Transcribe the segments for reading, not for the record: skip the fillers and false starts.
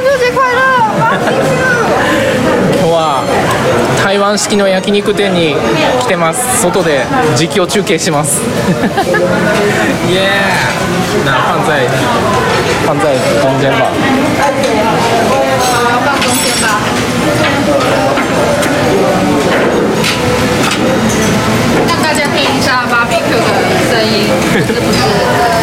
秋节快乐！ 今日は台湾式の焼肉店に来てます。外で実況中継します。イエー！那放在中间吧。 放中间吧。让大家听一下 barbecue 的声音，是不是？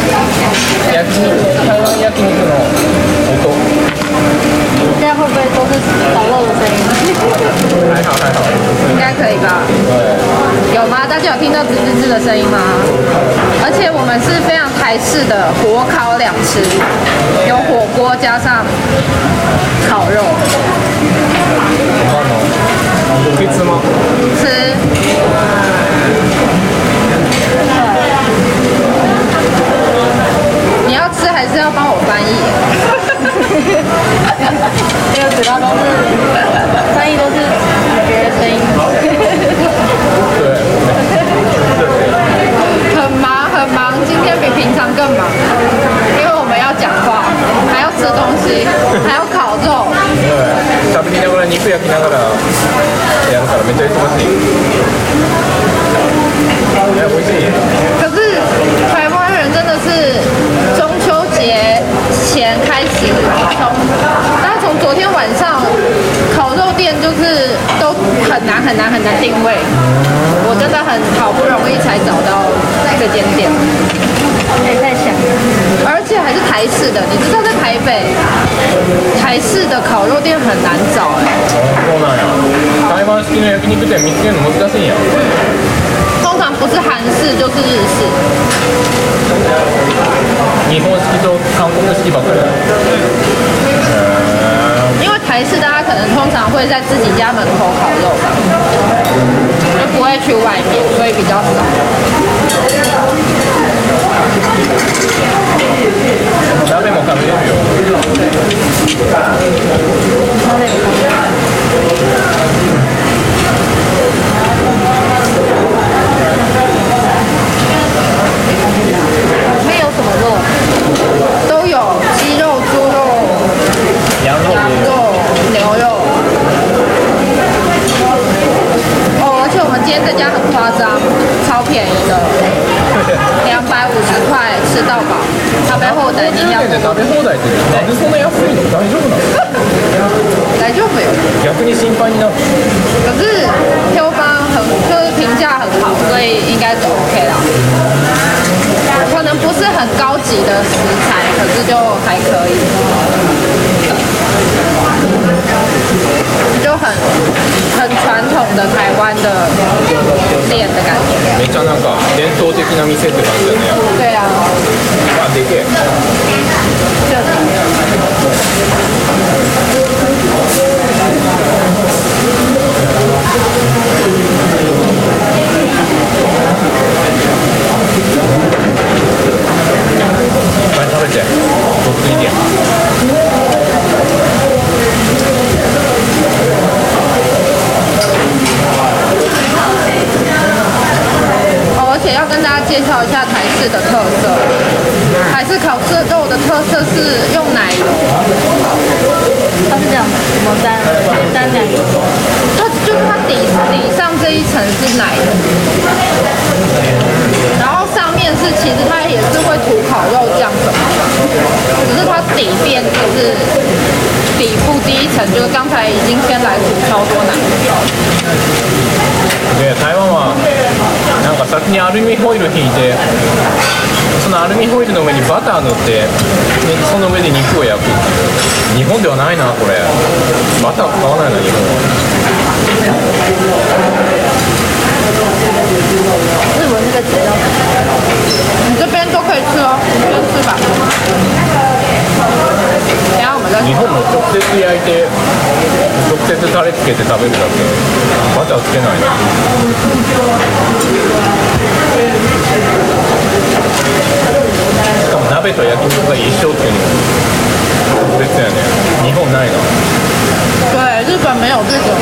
台湾焼肉の音。 现在会不会都是烤肉的声音？ 还好， 应该可以吧？有吗？大家有听到吱吱吱的声音吗？而且我们是非常台式的火烤两吃，有火锅加上烤肉。 可以吃吗？ 吃。你要吃还是要帮我翻译？这个主要都是翻译，都是别的声音。很忙，今天比平常更忙，因为我们要讲话，还要吃东西，还要烤肉。 食べながら肉焼きながらやるからめっちゃ忙しい。美味しい。 可是台湾人真的是中秋节前开始，大概从昨天晚上，烤肉店就是都很难定位。我真的很好不容易才找到这间店，还在想，而且还是台式的。你知道在台北，台式的烤肉店很難找そうなんや。台湾式の焼肉店見つけるの難しいんや。 通常不是韓式就是日式。 日本式と韓国式ばっかり。 因为台式大家可能通常会在自己家门口烤肉吧，就不会去外面，所以比较少。 鍋も食べれるよ。 里面有什么肉？都有鸡肉、猪肉、 羊肉、 牛肉。哦，而且我们今天这家很夸张，超便宜的，250块吃到饱。食べ放題200円。 食べ放題ってなんでそんな安いの？大丈夫なの？ 大丈夫よ。 逆に心配になる。 可是票方就是评价很好，所以应该是 OK 啦。可能不是很高级的食材，可是就还可以，就很传统的台湾的店的感觉。 めっちゃなんか伝統的な店って感じだね。 对啊。 あ、でけえ。いっぱい食べて、とっついて。 而且要跟大家介绍一下台式的特色。台式烤肉的特色是用奶油，它是这样，怎么沾奶油？它底上这一层是奶油，然后上面是其实它也是会涂烤肉酱什么的，只是它底边就是底部第一层就是刚才已经先来涂超多奶油。 で台湾はなんか先にアルミホイル引いて、そのアルミホイルの上にバター塗って、その上で肉を焼く。日本ではないなこれ。バター使わないな日本は。 日文那个词要，你这边都可以吃哦，你先吃吧。等下我们再日本も直接焼いて直接タレつけて食べるだけ。バターつけないな。しかも鍋と焼き肉が一緒っていうの特別やね。日本ないな。 对，日本没有这种，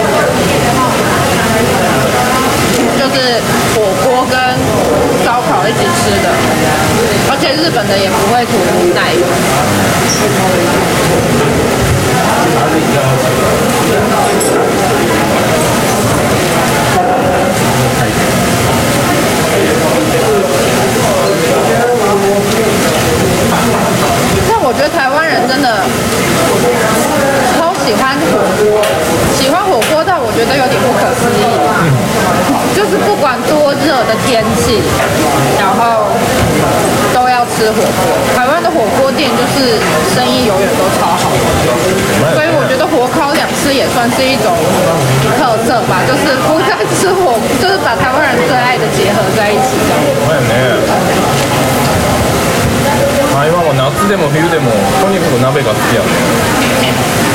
就是火锅跟烧烤一起吃的，而且日本的也不会涂奶油。 但我觉得台湾人真的超喜欢火锅，喜欢火锅到我觉得有点不可思议。就是不管多热的天气，然后都要吃火锅。台湾的火锅店就是生意永远都超好，所以我觉得火烤两吃也算是一种特色吧，就是不但吃火，就是把台湾人最爱的结合在一起这样。 台湾は夏でも冬でもとにかく鍋が好きやね。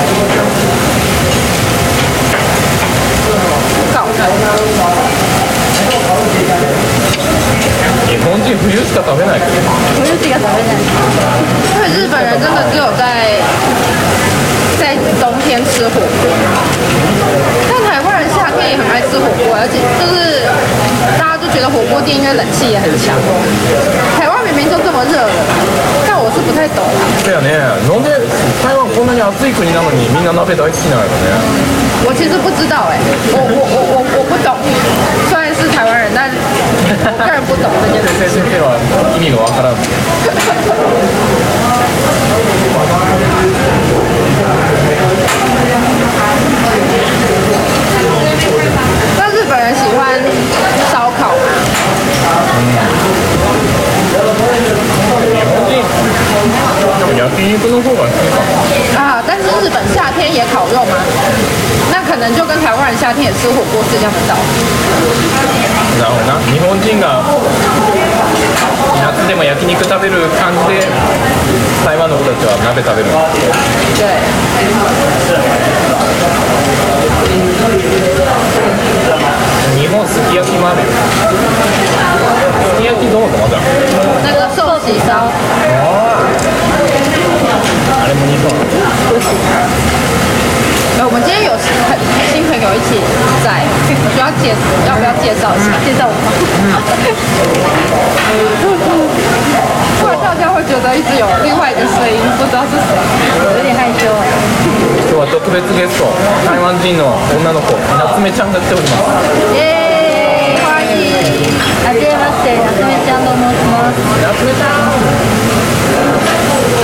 日本人冬しか食べないけど。 冬しか食べない。因为日本人真的只有在冬天吃火锅，但台湾人夏天也很爱吃火锅，而且就是大家都觉得火锅店应该冷气也很强。台湾明明就这么热了，但我是不太懂啊。 そうやね。なんで台湾こんなに暑い国なのにみんな鍋大好きなのね。 我其实不知道我不懂。虽然是台湾人，但我个人不懂这件事。 先生は意味がわからん。 那日本人喜欢烧烤吗？ 焼肉の方が好きかも。 啊，但是日本夏天也烤肉吗？那可能就跟台湾人夏天也吃火锅是一样的道理。 なるほどな。日本人が夏でも焼肉食べる感じで台湾の人たちは鍋食べる。 对。 日本すき焼きもあるよ。すき焼きどうまだ。 那个寿喜烧。 あれも日本。 我们今天有新朋友一起在，我需要要不要介绍一下？介绍我吗？突然大家会觉得一直有另外一个声音，不知道是谁，有点害羞。 今日は特別ゲスト、台湾人の女の子、夏目ちゃんが来ております。 欢迎。はじめまして、夏目ちゃんと申します。 夏目ちゃん。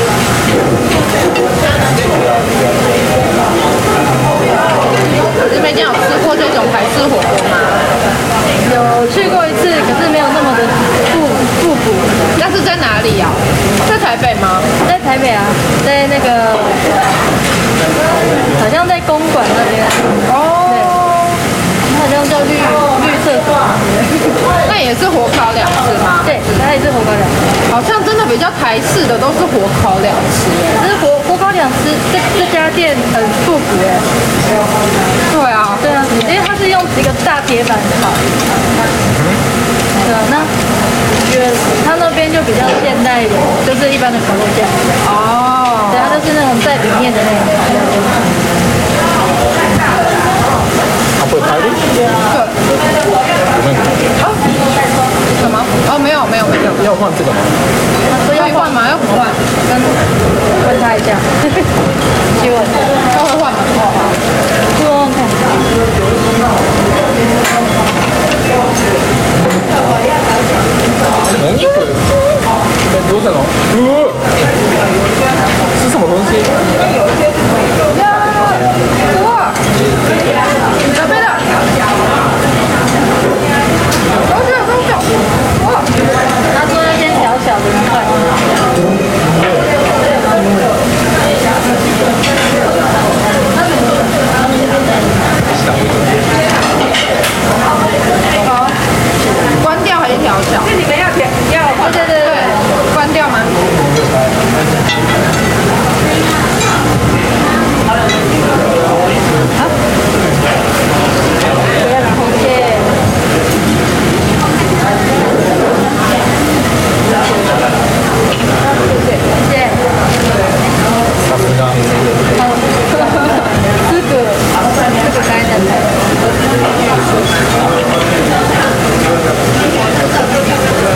日本有吃过这种台式火锅吗？ 有去过一次，可是没有那么的复古。 那是在哪里呀？在台北吗？ 在台北啊，在那个好像在公馆那边。 哦。 对，好像叫绿色馆。 那也是火烤两吃吗？ 对，它也是火烤两吃。 好像真的比较台式的都是火烤两吃可是火烤两吃这家店很复古哎。 对啊， 对啊，因为它是用一个大铁板烤。对啊，那觉得它那边就比较现代一点，就是一般的烤肉架。 哦。 对，它就是那种在里面的那种烤肉架。 これ帰る？ごめん。 什么？哦，没有。 要换这个吗？ 他说要换吗？要不换？ 问他一下。希望他会换吗？ 说问看。 お肉？どうしたの？是什么东西？ 哇！准备了。哇！ 他说要先小小的一块。 好，关掉还是调小？那你们要对，关掉吗？ 不要然后切。谢谢。 さすが。 这个该的菜。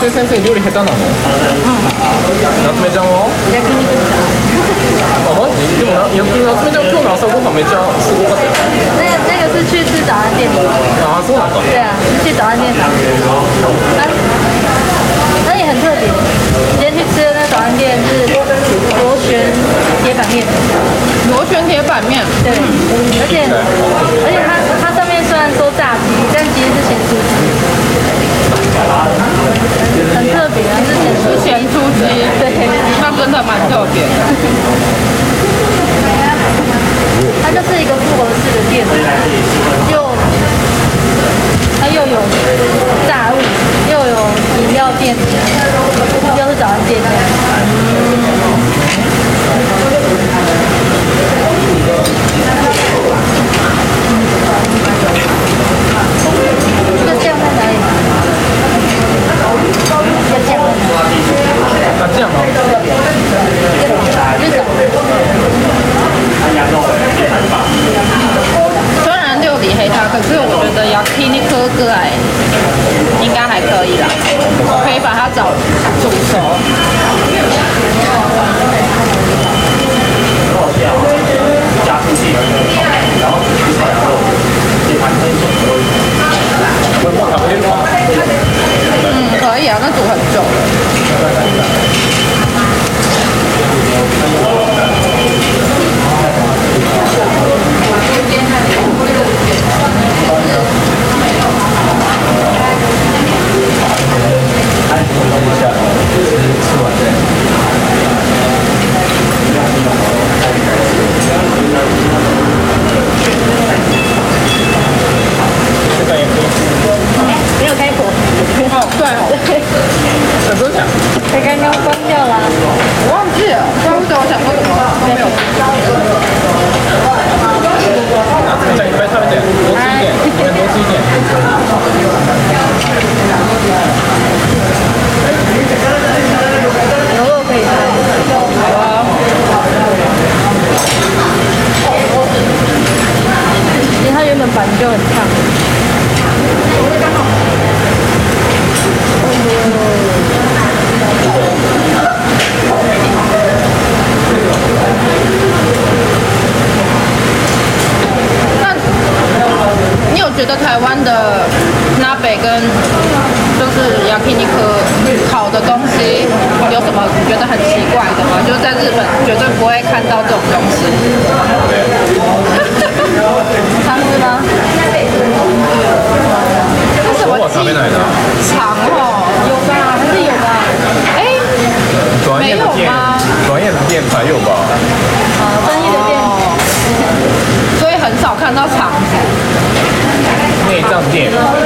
夏目先生料理下手なの？夏目ちゃんは？ 焼肉あ、マジ？でも夏目ちゃん今日の朝ごはんめっちゃすごかったよ。 那个是去吃早餐店的。 あ、そうなんだ。 对啊，是去早餐店打。那也很特别。今天去吃的那早餐店是螺旋铁板面。 螺旋铁板面， 对，而且它上面虽然说炸鸡，但其实是咸酥鸡，很特别啊，是咸酥鸡， 对， 那真的蛮特别的。 它就是一个复合式的店，它又有炸物，又有饮料店，又是早餐店这样。这个酱在哪里？这个酱在哪里？ 啊，这样吗？ 虽然料理黑它，可是我觉得yakinikuぐらい应该还可以啦，可以把它煮熟。可以啊，那煮很久。 没有开火。 哦，对哦， 真的假的？ 才刚刚关掉啦。 我忘记了，不知道为什么我想说什么没有。 夏目ちゃんいっぱい食べて。多吃一点，你们多吃一点。 牛肉可以吃。 好啊。 因为它原本板就很烫。 那你有觉得台湾的拿北跟就是yakiniku烤的东西有什么你觉得很奇怪的吗？就是在日本绝对不会看到这种东西。 汤是吗？ 这什么我食べないな。 肠哦？ 有吧？还是有吧？ 哎， 专业的店，专业的店才有吧？ 专业的店。 所以很少看到肠子。 内脏店。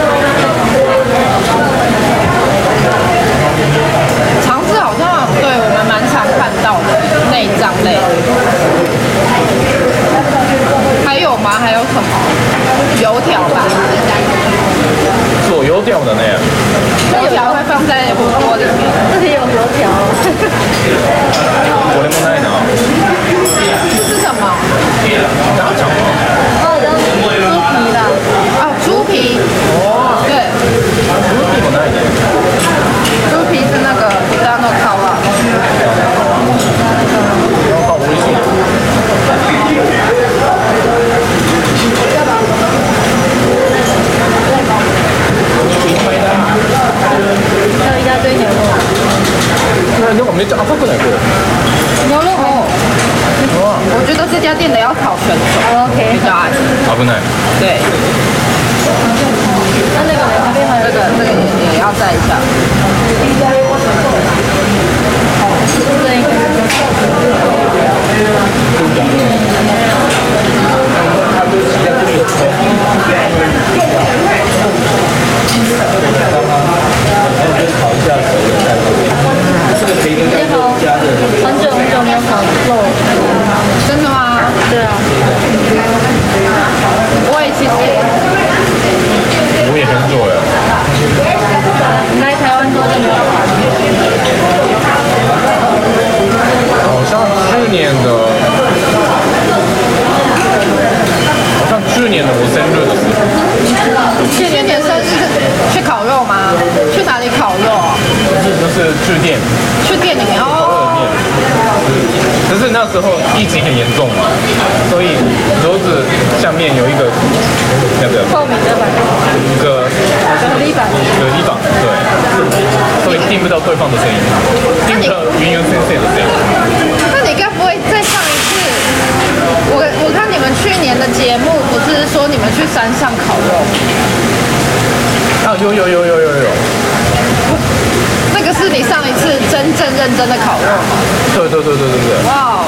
肠子好像对我们蛮常看到的内脏类。还有吗？还有什么？油条吧。 做油条的呢？ 油条会放在火锅里面。 这里有油条。 これもないな。 这是什么？ 大肠吗？ 哦，然后猪皮啦。 哦，猪皮。对。 猪皮もないね。 猪皮是那个豚の皮。 なんか美味しい。 还有一大堆牛肉。 なんかめっちゃ赤くないこれ？ 牛肉哦。我觉得这家店的要烤全熟。 OK。 比较安全。 危ない。 对。 那个呢？旁边还有这个也要蘸一下。 这一个。你好，很久没有烤肉。 真的吗？ 对啊。 我也其实我也很久了。 你来台湾多久？ 去店里面哦。 可是那时候疫情很严重嘛，所以桌子下面有一个那个透明的板， 隔离板， 对，所以听不到对方的声音，听不到云游先生的声音。 那你该不会再上一次？我看你们去年的节目不是说你们去山上烤肉？ 啊，有。 那个是你上一次真正认真的烤肉吗？ 对。 哇哦，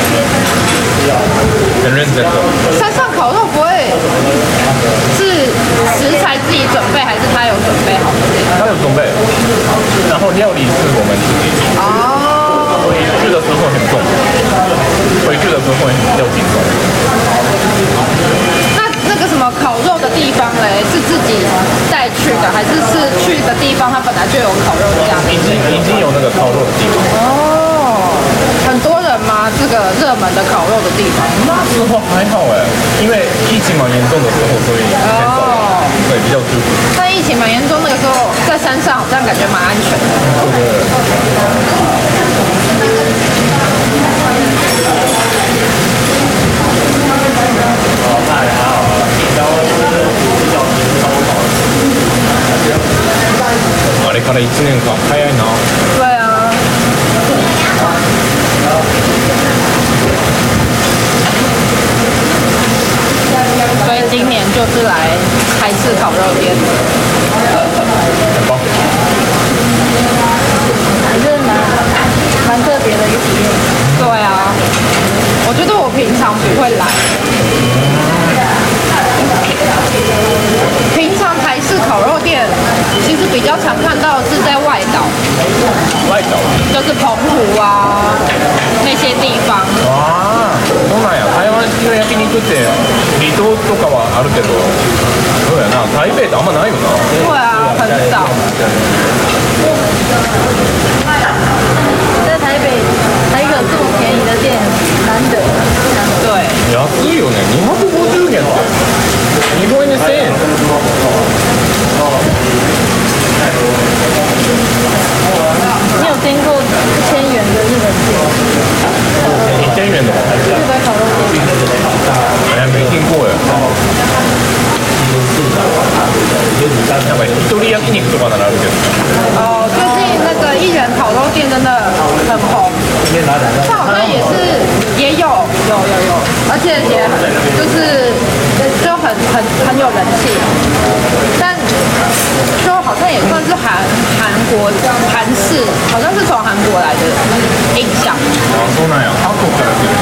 很认真的。 山上烤肉不会是食材自己准备，还是他有准备好的？ 他有准备，然后料理是我们自己。 哦。 所以去的时候很重，回去的时候要紧张。 那个什么烤肉的地方嘞，是自己带去的，还是去一个地方它本来就有烤肉架？ 已经有那个烤肉的地方。 哦，很多人吗？这个热门的烤肉的地方？ 那时候还好哎，因为疫情蛮严重的时候，所以很少人，对，比较舒服。 但疫情蛮严重，那个时候在山上好像感觉蛮安全的。 あれから1年間早いな。 对啊。所以今年就是来台式烤肉店。 很棒。 还是蛮特别的一个体验。 对啊，我觉得我平常不会来。平常台式烤肉店其实比较常看到是在外岛，就是澎湖啊那些地方。 ああ、そうなんや。台湾式の焼肉って離島とかはあるけど、そうやな。台北ってあんまないよな。 对啊，很少。 在台北还有一个这么便宜的店，难得。 对。 安いよね。250円って。日本円で1000円。 你有听过1000元的日本店 1000円の。 日本烤肉店？ 哎，没听过耶。なんか一人焼肉とかならあるけど。 哦，最近那个艺人烤肉店真的很红，它好像也有，而且也就是就很有人气，但就好像也算是韩式，好像是从韩国来的印象。 あ、そうなんや。韓国から来る。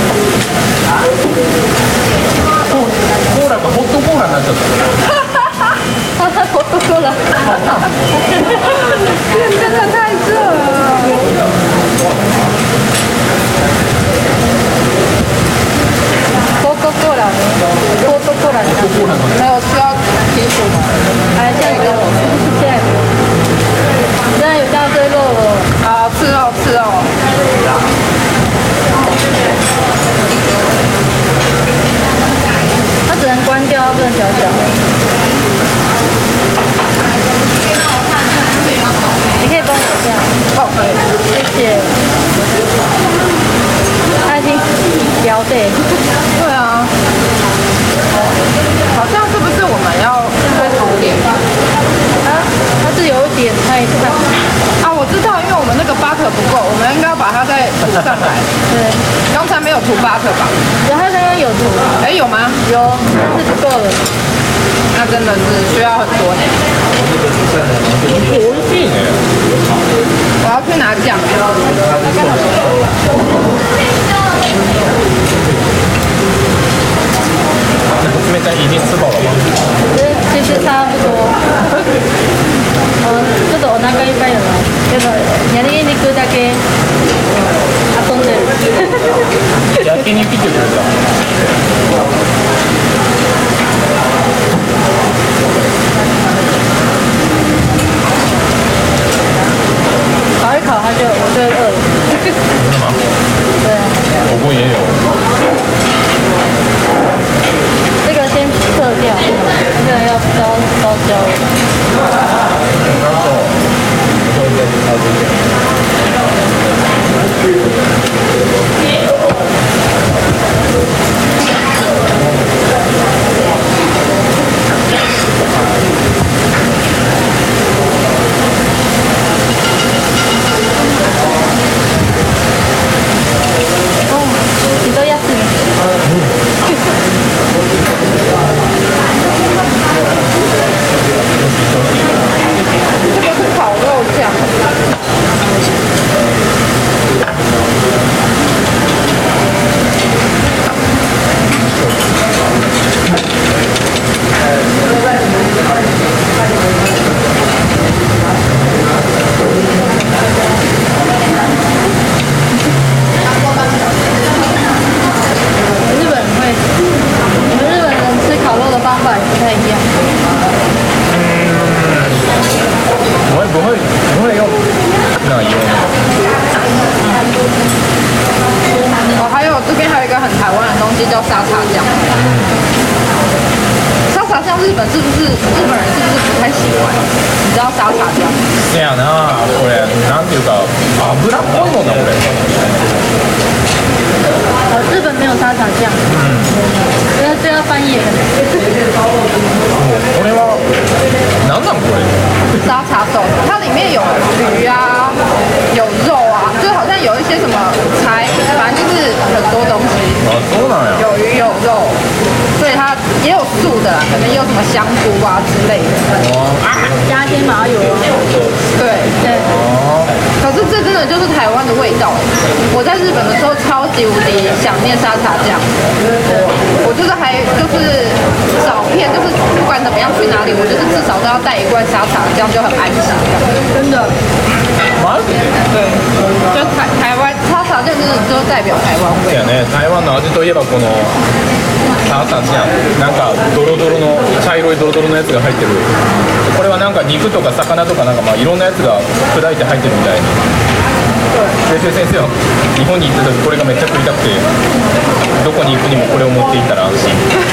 コーラがホットコーラになっちゃった。 我都说了， 真的太热了。 多多过来， 没有需要提醒吗？ 哎，现在给我，现在给我，现在有大堆肉了， 好，吃哦。 它只能关掉，不能调小。你可以帮我这样。 哦，可以。 谢谢。他已经标对。 对啊。好像是不是我们要再重点？ 它是有一点太烫。 啊，我知道，因为我们那个 butter 不够，我们应该要把它再涂上来。 对。 刚才没有涂 butter 吧？ 然后刚刚有涂。 哎，有吗？ 有，但是不够了。 那真的是需要很多呢。 美味しいね。 我要去拿酱。 冷たい已经吃饱了吗？ 其实差不多。ちょっとお腹いっぱいだな。けど焼肉だけ遊んでる。 焼肉って言ってた。 烤一烤，我就会饿了。 真的吗？ 对啊。 火锅也有。 这个先撤掉，这个要烧焦了。 なんと、 西叫沙茶酱。沙茶酱日本人是不是不太喜欢？你知道沙茶酱？ せやな、これなんていうか油っぽいもんなこれ。 日本没有沙茶酱，这要翻译。 これはなんなんこれ？ 沙茶豆腐，它里面有鱼啊，有肉啊，就好像有一些什么菜，反正就是很多东西。 そうなんや。 有鱼有肉，所以它也有素的啦，可能也有什么香菇啊之类的。 加一些麻油啊。 对对。 可是这真的就是台湾的味道。我在日本的时候超级无敌想念沙茶酱，我就是就是找遍，就是不管怎么样去哪里，我就是至少都要带一罐沙茶酱，就很安心。真的。 マジ？ 对，就台湾沙茶酱真的就代表台湾味。 そうやね、台湾の味といえばこの沙茶酱、なんかドロドロの茶色いドロドロのやつが入ってる。これはなんか肉とか魚とかなんかまあいろんなやつが砕いて入ってるみたいに。先生は日本に行った時これがめっちゃ食いたくて、どこに行くにもこれを持って行ったら安心。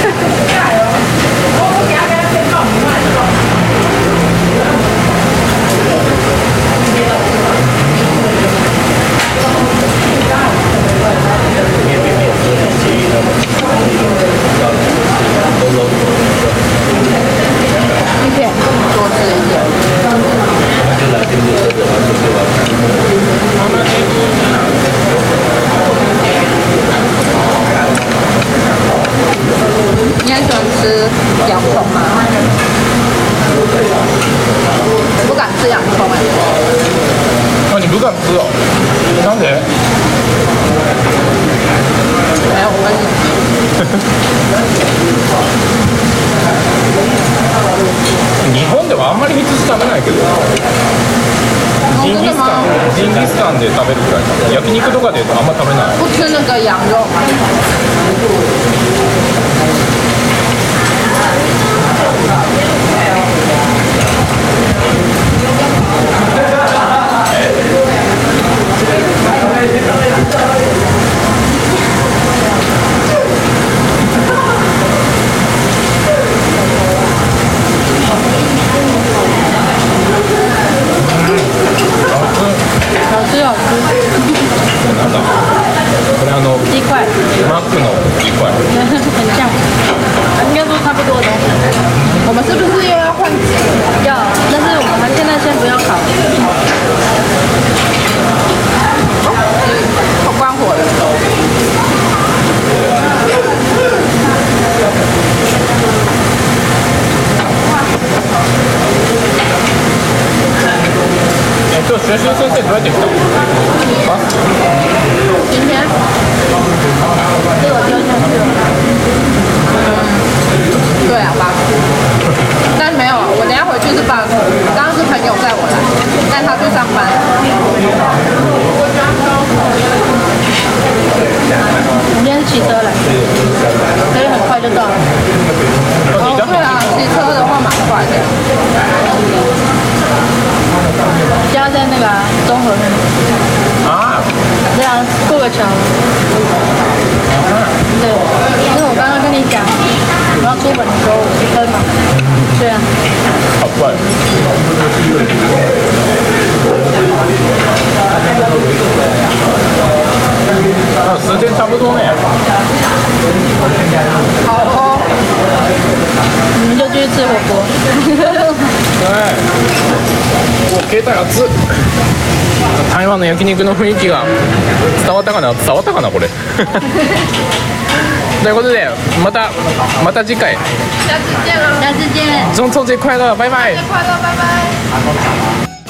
一片多吃一点。你很喜欢吃洋葱吗？我不敢吃洋葱哎。 あ、你不敢吃哦？なんで？ 没有，我跟日本ではあんまり羊食べないけど。ジンギスカンで食べるくらい。焼肉とかであんま食べない。 不吃那个羊肉吗？ なんだこれ鸡块， マックの鸡块。 很像，应该说差不多的东西。 我们是不是又要换几？ 要，但是我们现在先不要烤。 好关火了。 今日学習先生どうやって来たの？バス？ 今天被我丢下去了。 对啊，巴士。但没有，我等一下回去是巴士。刚刚是朋友载我来，但他去上班。 我今天是骑车来，所以很快就到了。 哦，对啊，骑车的话蛮快的。 家在那个中和那里。 啊？ 对啊，过个桥。对，因为我刚刚跟你讲，我要出门的时候骑车嘛。对啊。 好快。啊，时间差不多呢。 好哦。 你们就继续吃火锅。 はい。お、携帯熱っ。台湾の焼肉の雰囲気が伝わったかなこれ。ということでまた次回。 下次见了。 下次见。 中秋节快乐，拜拜。 快乐，拜拜。